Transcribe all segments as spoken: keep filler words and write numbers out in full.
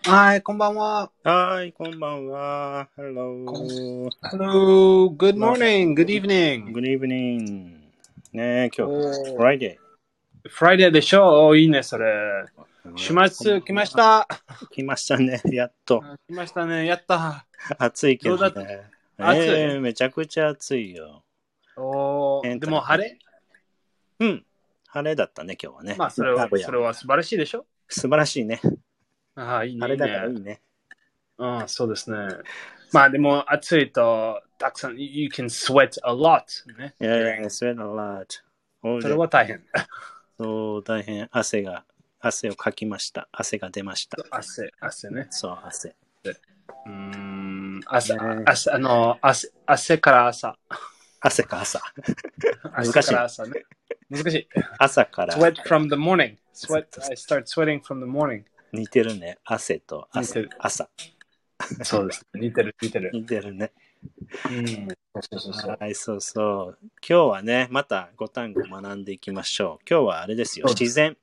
はい、こんばんは。 はい、こんばんは。Hello. Hello, good morning, good evening. Good evening. ねえ、今日、 おー Friday。 Friday でしょ？おーいいね、それ。週末来ました。 来ましたね、やっと。 あ来ましたね、やった。 暑いけどどうだね。 暑いええめちゃくちゃ暑いよ。 おーでも晴れうん。晴れだったね、今日はね。 まあ、それは、それは素晴らしいでしょ？ 素晴らしいね。 ああ、いいね、 晴れいいね。 だからいいね。 ああ、そうですね。まあ、でも暑いと、たくさん、you can sweat a lot. ね。 いやいや、sweat a lot. それは大変。 そう、大変。汗が、汗をかきました。汗が出ました。 汗、汗ね。 そう、汗。 うーん、朝、 ね朝、あの、汗、汗から朝。 汗か朝。難しい朝から朝ね。難しい。 朝から。 sweat from the morning. Sweat, I start sweating from the morning. 似てるね。汗と似てる。 朝。 そうです。似てる、似てる。 似てるね。 うん。そうそうそう。 はい、そうそう。今日はね、またご単語学んでいきましょう。今日はあれですよ。自然。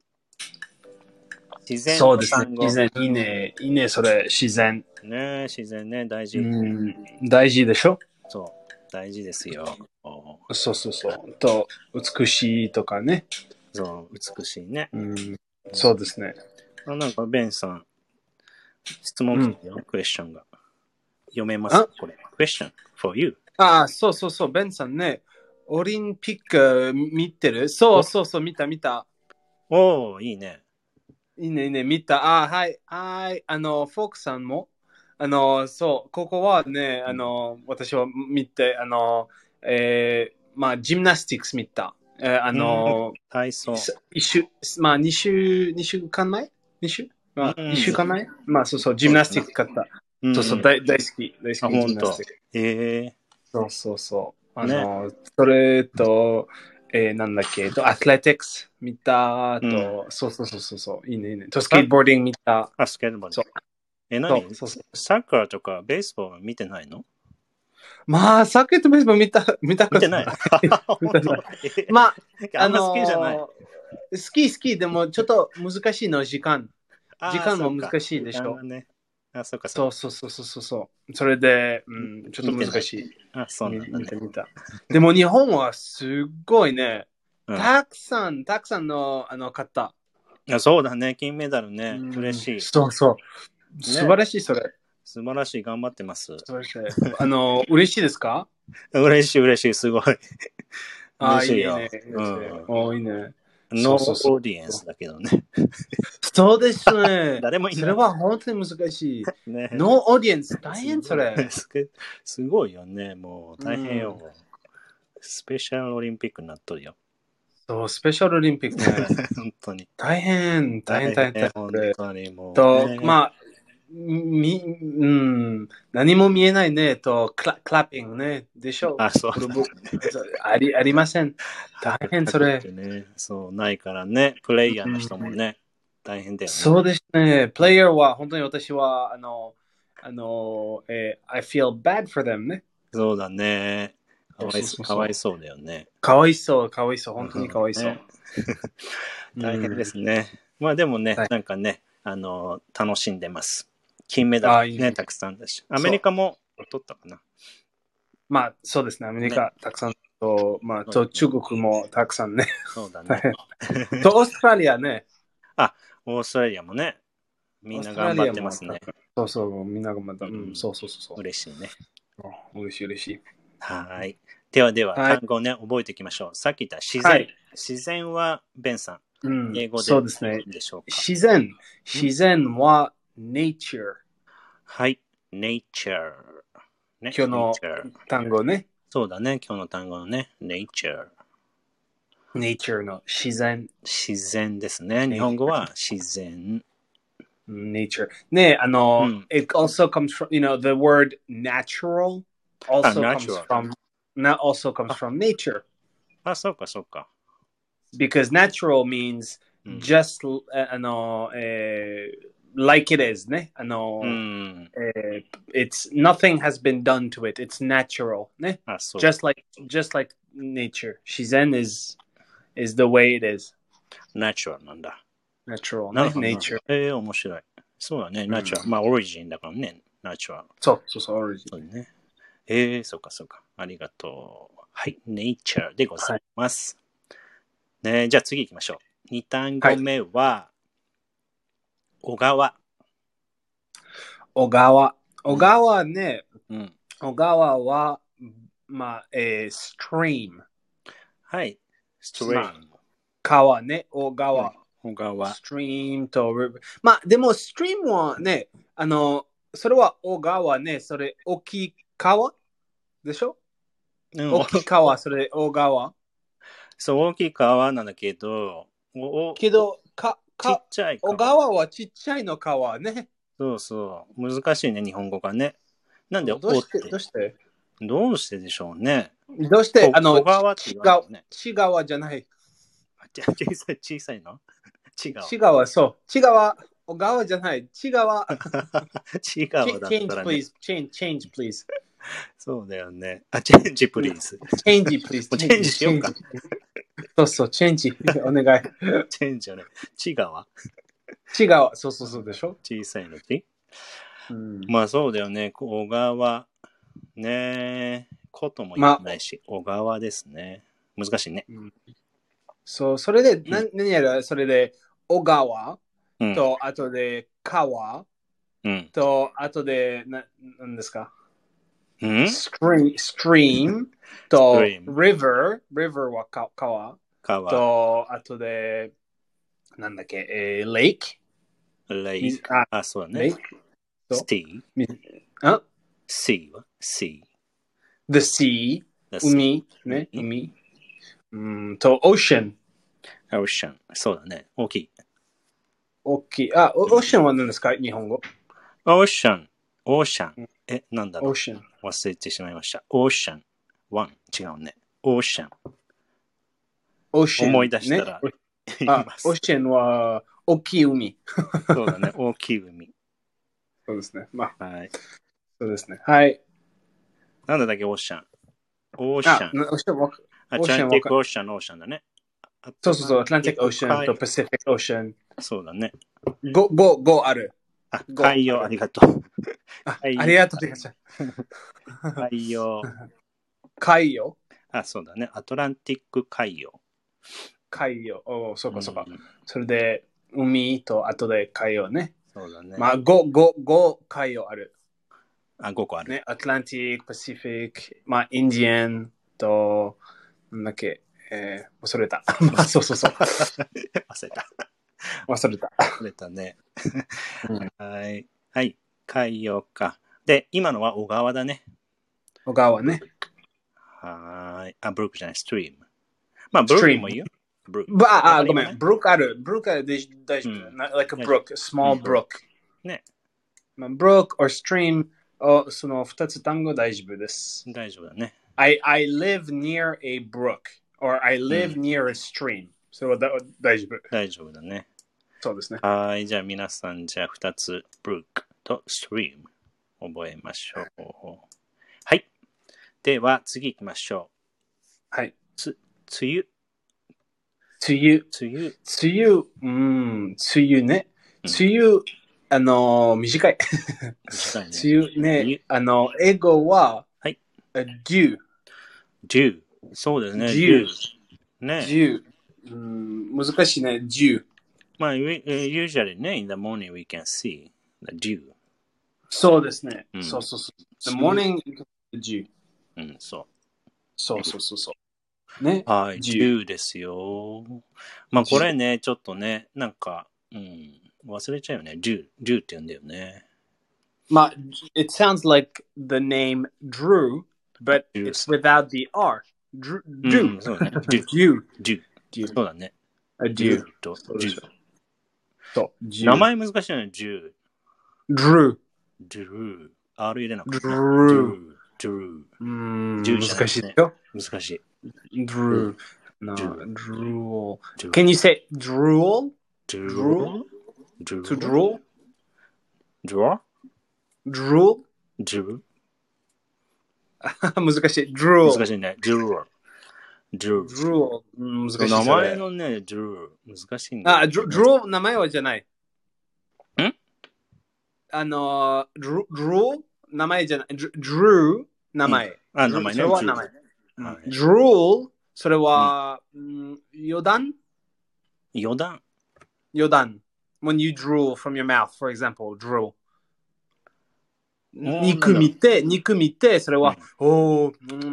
自然のそうですね。 単語。 自然、いいね。いいね、それ、自然。 ね、自然ね、大事。 うん。大事でしょ？ そう、大事ですよ。 そうそうそう。と、美しいとかね。 そう、美しいね。 うん。そうですね。 あ、なんか、ベンさん、質問来てよ、クエスチョンが。読めますこれ。クエスチョン for you。 ああ、そうそうそう、ベンさんね。オリンピック見てる？そうそうそう、見た見た。 おー、いいね。 いいね、いいね、見た。あ、はい、はい。あの、フォークさんも、あの、そう、ここはね、あの、私は見て、あの、えー、まあ、ジムナスティックス見た。えー、あの、 体操。 一週、まあ、二週、二週間前二週まあ、 うん、 一週間前まあ、そうそう、ジムナスティック買った。 うん、 そうそう、大大好き、大好あ、 き、ジ本当。 ムナスティック。 ええそうそうそう。あー、ね。 の、それと、えー、なんだっけ、と、アスレティックス見たと、 うん、 そうそうそうそうそう、いいね、いいね。と、スケートボーディング見た。 あ、スケートボード。 そう。 え、何そうそうそうサッカーとかベースボール見てないの？ まあ、サーキットベースボール見た、見たことない。 見てない見たない。 えまあ、ああんま好きじゃない。 のー、好き好き、でもちょっと難しいの、時間。時ああ、 間もそうか。 難しいで時しょ。 間がね。あ、そうか、そそううか。 そうそうそうそう。それで、うん、ちょっと見てない。 難しい。 あ、そう見なんだね。 見た見た。でも日本はすっごいね、 うん。 たくさん、たくさんのあの方。 あ、そうだね。金メダルうね。 ん嬉しい。 そうそう。素晴らしい、それ。 素晴らしい。頑張ってます。 素晴らしい。あの、嬉しいですか？ 嬉しい、嬉しい。すごい。 ああ、いいね、いい嬉しいよ。 ね。 うん。 おーいいね。 ノーそうそうそう。 オーディエンスだけどね。 そうですね。 誰もいない。 それは本当に難しい。 ね。 ノーオーディエンス、大変それ。 すごいすごいよね。もう大変よ。 うんスペシャルオリンピックになっとるよ。 そう、スペシャルオリンピックね。 本当に。 大変、大変、大変、大変。 本当にもう、 と、 ね。 まあ、み、うん、何も見えないね、と、クラクラッピングね、でしょう。 あ、そうだ、ね。 あり、ありません。大変、それ。 ね、そう、ないからね。プレイヤーの人もね、大変だよね。 そうですね。プレイヤーは、本当に私は、あの、あの、えー、I feel bad for them ね。 そうだね。かわいそうそうそうかわいそうだよね。 かわいそう、かわいそう、本当にかわいそう。 ね、大変ですね。まあでもね、なんかね、あの、楽しんでます。金メダルね、いいねたくさんだし。アメリカも取ったかな。 まあ、そうですね。アメリカ、ね、たくさんと、まあ、と中国もたくさんね。 そうだね。 と、オーストラリアね。 あ、オーストラリアもね。みんな頑張ってますね。 そうそう、みんな頑張った。うん、そうそうそう。 嬉しいね。 嬉しい嬉しい。 はい。ではでは、単語ね、覚えていきましょう。さっき言った自然。自然は、ベンさん。英語でそうですね。 でしょうか。 自然。自然は nature。 はい。nature。 今日の単語ね。 そうだね。今日の単語のね。nature。 nature の自然。 自然ですね。日本語は自然。 nature. ね、あの、うん、it also comes from, you know, the word natural also comes from, not also comes from nature. あ、そうか、そうか。 Because natural means just, あの、えー、like it is ね。あの、えー、it's, nothing has been done to it. It's natural ね。just like, just like nature. 自然 is, is the way it is. natural なんだ。 natural ね。nature. えー、面白い。 そうだね、ナチュラル。まあ、オリジンだからね、ナチュラル。 そうそうそう、オリジン。 そうね。えー、そうかそうか。ありがとう。はい、ネイチャーでございます。はい、ね、じゃあ次行きましょう。に単語目は、はい、小川。 小川。小川ね、 うん、 小川は、まあ、えー、stream。 はい、stream。まあ、 川ね、小川。 小川。 stream と river。まあ、でも、stream はね、あの、それは小川ね、それ、大きい川でしょ、うん、大きい川、それ、小川。 そう、大きい川なんだけど、 おけど、か、か、ちっちゃい川。小川はちっちゃいの川ね。 そうそう。難しいね、日本語がね。なんで、 どうして、どうしてどうしてでしょうね。 どうして、あの、 小川って言わないね。 ち川じゃない。 小さい、小さいのち川。 ち川、そう。ち川、小川じゃない。ち川。 ち川だったらね。 change, please. change, change, please. そうだよね。あ、チェンジ、プリーズ。 チェンジ、プリーズ。 チェンジしようか。 そうそう、チェンジ。お願い。 チェンジよね。ち川。 ち川、そうそうそうでしょ。 小さいのち、うん、まあそうだよね。小川。ねえ。ことも言わないし、まあ、小川ですね。難しいね。うん、 そう、それで、うん、な何やるそれで、小川と、うん、あとで、川、うん、と、あとで、な、なんですか、うん、stream, stream と、river, river は川、川と、あとで、なんだっけ、えー、lake? lake. あ、あ、そうだね。lake? sea. あ sea は sea. The sea. 海、ね、海。うんと、ocean。 ocean。そうだね。大きい。 大きい。あ、ocean は何ですか、日本語。 ocean。ocean。え、なんだろう。 ocean。 忘れてしまいました。ocean。one。違うね。ocean。 ocean。 思い出したら、ね。 あ、ocean は大きい海。 そうだね。大きい海。 そうですね。まあ。 はい。 そうですね。はい。 なんだっけ、ocean。ocean。 あ、ocean。 アトランティックオーシャン、オーシャンだね。 そうそうそう、アトランティックオーシャンとパシフィックオーシャン。 そうだね。 ご、ご、ごある。 あ、海洋ありがとう。 あ, ありがとう、ありがとう。海洋。 海洋あ、そうだね。アトランティック海洋。 海洋。おそうかそうか、うん。それで、海と後で海洋ね。 そうだね。 まあ、ご、ご、ご海洋ある。 あ、ごこある。 ね、アトランティック、パシフィック、まあ、インディアンと、なんだっけ、えー、忘れた。まあ、そうそうそう。 忘れた。 忘れた。 忘れたね。はい。はい。海洋か。で、今のは小川だね。 小川ね。 はい。あ、ブルックじゃない、ストリーム。まあ、ブルックもいいよ。 ブルック。あ、あ、ごめん。ブルックある。ブルックある。大丈夫。like a brook, a small brook. ね。 まあ、brook or stream、その二つ単語大丈夫です。 大丈夫だね。 I, I live near a brook or I live、うん、near a stream. それはだ大丈夫。 大丈夫だね。 そうですね。 はい。じゃあ皆さん、じゃあ二つ、brook と stream 覚えましょう。はい。では次行きましょう。はい。 つ、梅雨。 梅雨。 梅雨。 梅雨。うん、梅雨ね。梅雨、うん、あの、短い。 短いね。 梅雨ね。あの、英語は、 はい。 dew。 dew。そうですね。 dew。 ね。 dew。うん、難しいね。dew。 まあ、usually ね、in the morning we can see the dew。 そうですね。うん、そうそうそう。the morning dew。 うん、そう。 そうそうそうそう。ね。 はい、dewですよ。まあ、これね、ちょっとね、なんか、うん、忘れちゃうよね。dew、dew って言うんだよね。 まあ、it sounds like the name Drew, but it's without the R. Drew. dew、うん、そうだね。 dew. dew. dew. そうだね。 a dew. と dew。 そう。 名前難しいよね、dew。 Drew。 drew。R 入れなかった。 drew。 drew。 うん、難しいよ。 難しい。drew。No, drool. Can you say drool? drool? To drool? draw? drool? drool? 難しい。drool. 難しいね。drool. drool. drool. 難しい。 名前のね、drool. 難しいんだ。 あ、drool 名前はじゃない。 んあの、Drew、Drew 名前じゃない、Drew 名前。 あ、名前ね。 それは名前。 はい、 Drool それは、うん、余談余談余談。When you drool from your mouth, for example, drool. 肉見て、肉見て、それは、うん、おー、うん、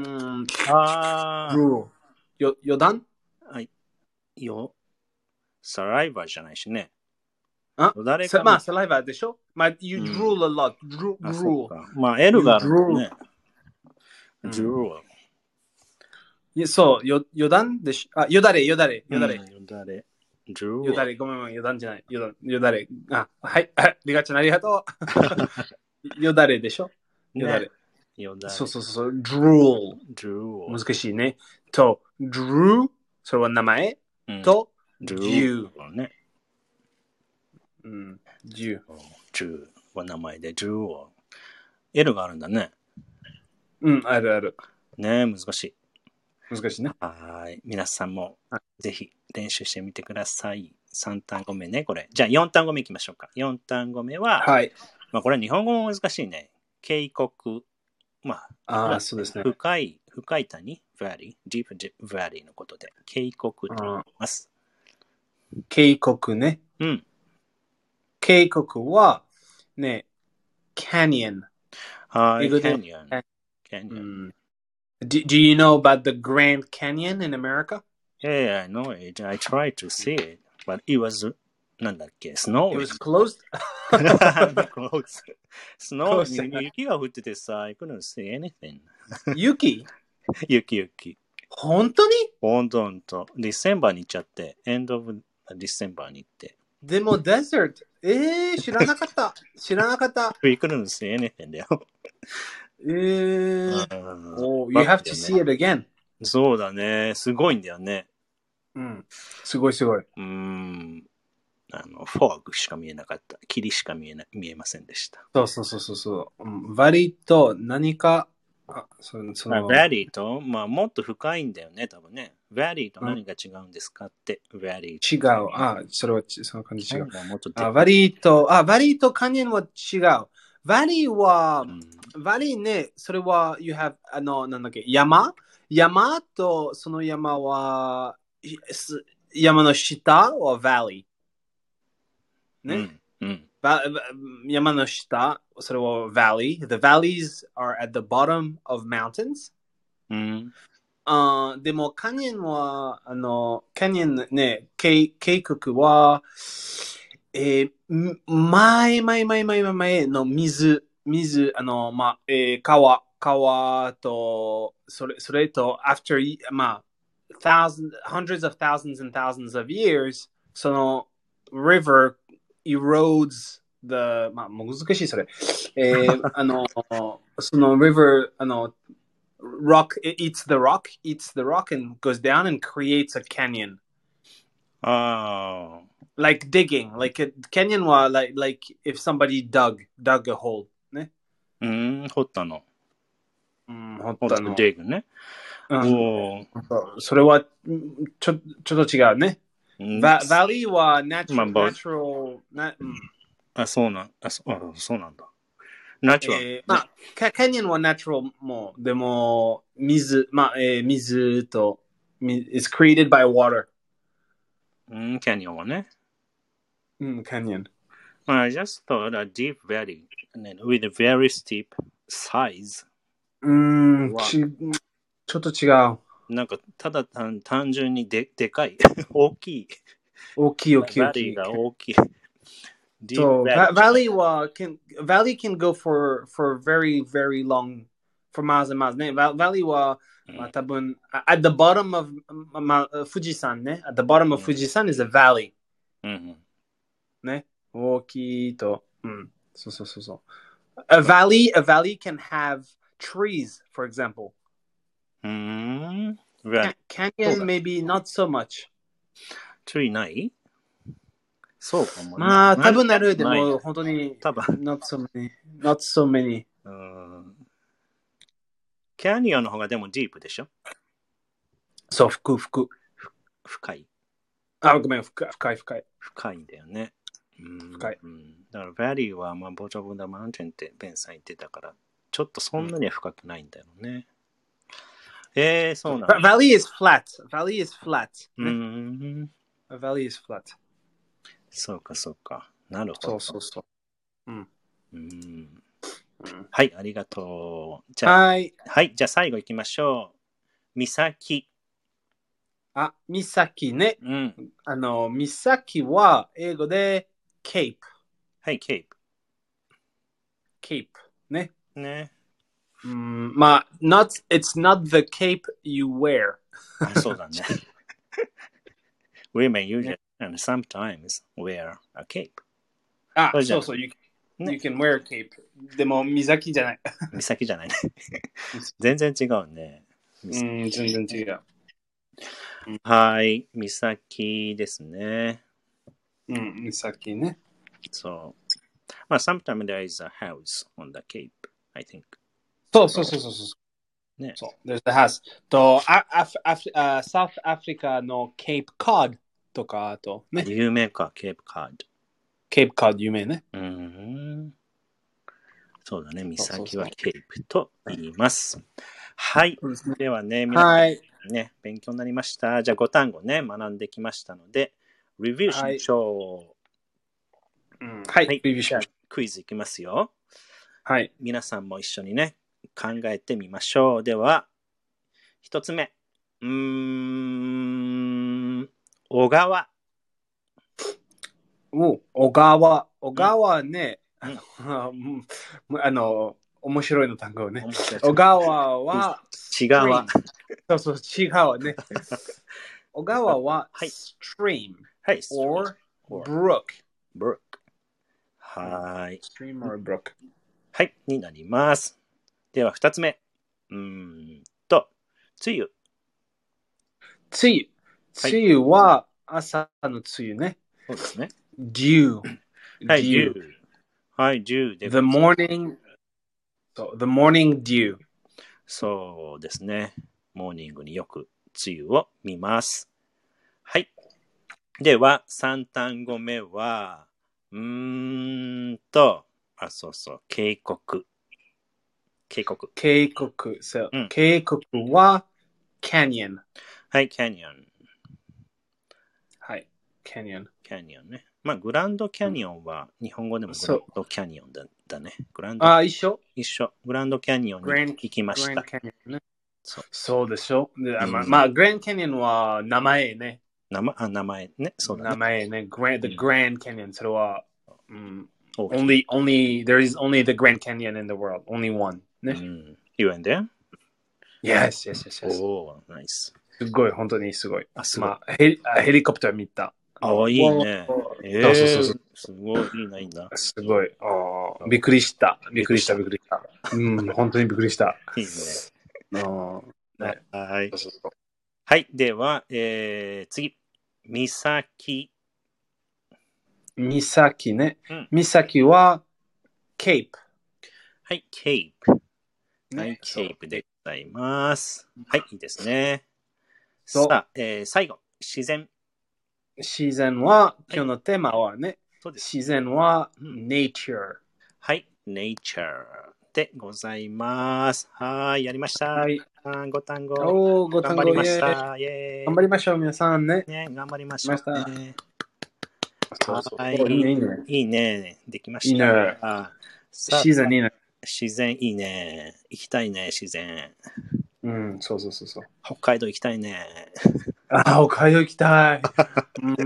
あー。 drool。よ、余談はい。よ、サライバーじゃないしね。 あまあ、サライバーでしょまあ、you drool a lot. Drool. あ、そうか。まあ、L があるんだね。drool。 いや、そう、よ、余談でしょあ、よだれ、よだれ、よだれ。 よだれ。drool。 よだれ、ごめんごめん、余談じゃない。よだよだれ。あ、はい、リガちゃんありがとう。よだれでしょよだれ。 よだれ。 そうそうそう、drool。 drool。 難しいね。と、drew、それは名前。と、dew。 ね。 うん、dew。 dew は名前で、dew。L があるんだね。 うん、あるある。 ね、難しい。 難しいね。 はい。皆さんもぜひ練習してみてください。さん単語目ね、これ。じゃあよん単語目いきましょうか。よん単語目は、 はい。 まあこれ日本語も難しいね。渓谷。まあ、あそうですね。 深い、深い谷 valley, deep valley のことで、渓谷と言います。 渓谷ね。 うん。 渓谷は、ね、canyon。 はい、canyon。canyon。 Do, do you know about the Grand Canyon in America? Yeah, I know it. I tried to see it, but it was, なんだっけ、snowing. It was closed? closed. Snow, 雪が降っててさ、I couldn't see anything. 雪雪雪。 本当に本当本当。ディセンバーに行っちゃって、end of December に行って。 でも、デザート。えー、知らなかった。知らなかった。 We couldn't see anything だよ。 えー。Oh, you have to see it again. そうだね。すごいんだよね。 うん。すごいすごい。 うーん。あの、フォーグしか見えなかった。霧しか見えな、見えませんでした。 そうそうそうそう。うん、バリと何か、あ、その、その。 バリと、まあ、もっと深いんだよね、多分ね。バリと何が違うんですかって、バリ。 違う。あ、それは、その感じ違う。 もっとあ、バリと、あ、バリとカニンは違う。バリは、うん、バリね、それは、you have、あの、なんだっけ、山山と、その山は、山の下は valley。ね。 うんうん、 山の下、それは valley. The valleys are at the bottom of mountains. うん、 uh, でも、カニンは、あの、カニンね、渓谷は、えー、前、前、前、前、前の水、水、あの、まあ、えー、川、川と、それ、それと、after, まあ、thousands, hundreds of thousands and thousands of years, その、river erodes the, まあ、難しいそれ。えー、あの、その river, あの、rock, it eats the rock, eats the rock and goes down and creates a canyon. ああ。 Like digging, like a canyon は like, like if somebody dug, dug a hole. ね。 うん、掘ったの。 うん、掘ったの。 dig ね。 うん、それはちょ、ちょっと違うね。バ、バリーは natural, natural な、うん、 あ、そうなん、あ、そ、あ、そうなんだ。ナチュラル。 えー、まあ、キャニオンは natural も、でも、水、まあ、えー、水と、is created by water. うん、キャニオンはね。 うん、キャニオン。 I just thought a deep valley with a very steep size. うん、ち、ちょっと違う。 なんか、ただ単単純にででかい。大きい。 大きい、大きい、大きい。バリーが大きい。 So, valley は can, valley can go for, for very, very long, for miles and miles. ね、valley は、まあ、多分、at the bottom of, まあ、富士山ね。at the bottom of 富士山 is a valley. うん、 ね。大きいと、うん。そうそうそうそう。A valley, a valley can have trees, for example. うん。 Canyon maybe not so much. tree ないそうかも。 まあ、多分なる。でも、本当に、 多分。 not so many. not so many. うん。キャニオンの方がでもディープでしょそう、深、深。 深い。 あ、ごめん、深い、深い、深い。 深いんだよね。 深い。 うん、だから、Valley は、まあ、Bottom of the Mountain ってベンさん言ってたから、ちょっとそんなには深くないんだよね。うん、えー、そうなんだ。 Valley is flat. Valley is flat. うん。 Valley is flat. そうか、そうか。なるほど。 そうそうそう。うん。 うん。 うん、 はい、ありがとう。じゃあ、 はい。 はい、じゃあ最後行きましょう。岬。 あ、岬ね。 うん。 あの、岬は英語で Cape。 はい、Cape。 Cape ね。 ね。 うん、まあ、not, it's not the cape you wear. あ、そうだね。Women usually and sometimes wear a cape. あ、 そうじゃないそうそう、you, ね you can wear a cape. でも、岬じゃない。 岬じゃないね。全然違うね。 うん、全然違う。 はい、岬ですね。 うん、岬ね。 そう。まあ、sometimes there is a house on the cape, I think. そうそうそうそうそう。 ね。 そう。There's the house. と、あアフアフあサウスアフリカの Cape Cod とか、あとね。 有名か、ケープカード。 Cape Cod 有名ね。 うん。そうだね、岬はケープと言います。はい。ではね、皆さん、 はい。 ね、勉強になりました。じゃあ、ご単語ね、学んできましたので、レビューしましょう。うん、 う。 はい。 はい。 レビューしましょう。 クイズいきますよ。 はい。 皆さんも一緒にね、考えてみましょう。では、一つ目。うーん、小川。 お、小川。小川ね。 うん、 あの、面白いの単語ね。 面白い小川は、 違川。 そうそう、違うね。小川は、 はい stream はい。 or or brook。 brook。はい。 stream or brook。 はい。になります。では、二つ目。うーんと、梅雨。 梅雨。梅雨は朝の梅雨ね。 そうですね。 dew。 はい、 dew。 dew。はい、dew で。 the morning, so, the morning dew。 そうですね。モーニングによく梅雨を見ます。はい。では、三単語目は、うーんと、あ、そうそう、渓谷。渓谷。 渓谷。そう、 うん、 渓谷は canyon。 はい、キャニオン。 はい、canyon。 キャニオンね。まあ、グランドキャニオンは、日本語でもグランドキャニオンだだね。グランドあ、一緒一緒。グランドキャニオンに行きました。 グランドキャニオンね。 そうそうでしょ。でうんまあ、まあ、グランドキャニオンは名前ね。 名前、あ、名前ね。そうだね。 名前ね。Grand, the Grand Canyon。それは、うん、 大きい only, only, there is only the Grand Canyon in the world. Only one. ね。 うん。You went there? Yes, yes, yes, yes. おー、ナイス。 すごい、本当にすごい。 あ、すごい。 まあ、ヘリヘリコプター見た。 ああ、いいね。えそうそうそうそう。 すごい、いいな、いいな。 すごい。あびっくりした。びっくりした、びっくりした。うん、本当にびっくりした。 いいね。 あね、 はい。 そうそうそう。 はい。では、えー、次。岬。 岬ね。 うん、 岬は、ケープ。 はい、ケープ。 ね、 はい、ケープでございます。はい、いいですね。 そうさあ、えー、最後。自然。 自然は、今日のテーマはね、 そうです。 自然は、 うん nature。 はい、nature でございます。はい、やりました。 はい。 ご単語。 おー、ご単語頑張りました。イェーイ。 頑張りましょう、皆さんね。 ね、頑張りましょう、ね。 そうそうはい、 いいね、いいね。 いいね。できました。 いいね。自然いいね。 自然いいね。行きたいね、自然。 うん、そうそうそうそう。 北海道行きたいね。 あ、北海道行きたい。うん、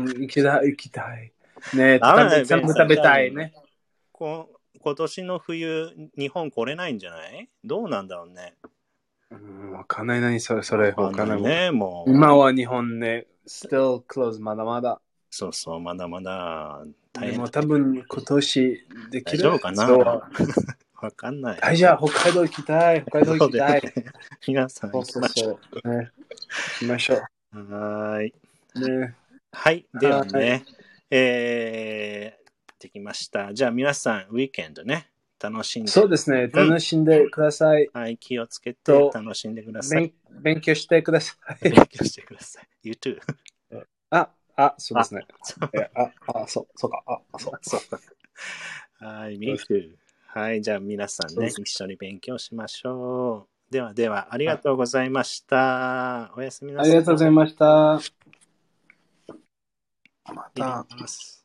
行きたい、行きたい。ね、食べ食べたいね。 こ今年の冬、日本来れないんじゃない？どうなんだろうね。 うん、わかんないな、それ、それ、わかんないね、もう。今は日本ね、still close、まだまだ。 そうそう、まだまだ大変。でも多分今年できる。 大丈夫かな？わかんない。 はい、じゃあ北海道行きたい。北海道行きたい。 ね、皆さん行きましょう。 ね、行きましょう。 はい。 ね、 はい。ではね、はい、えー、できました。じゃあ皆さん、ウィーケンドね、楽しんで。 そうですね、楽しんでください。 うん、はい、気をつけて楽しんでください。 勉強してください。 勉強してください。You too. ああ、そうですね。 そうえあ、あ、そう、そうか。あ、そう。 そうはい、me too。はい、じゃあ皆さんね、 そうです一緒に勉強しましょう。ではでは、ありがとうございました。おやすみなさい。 ありがとうございました。ま切りた。 ます。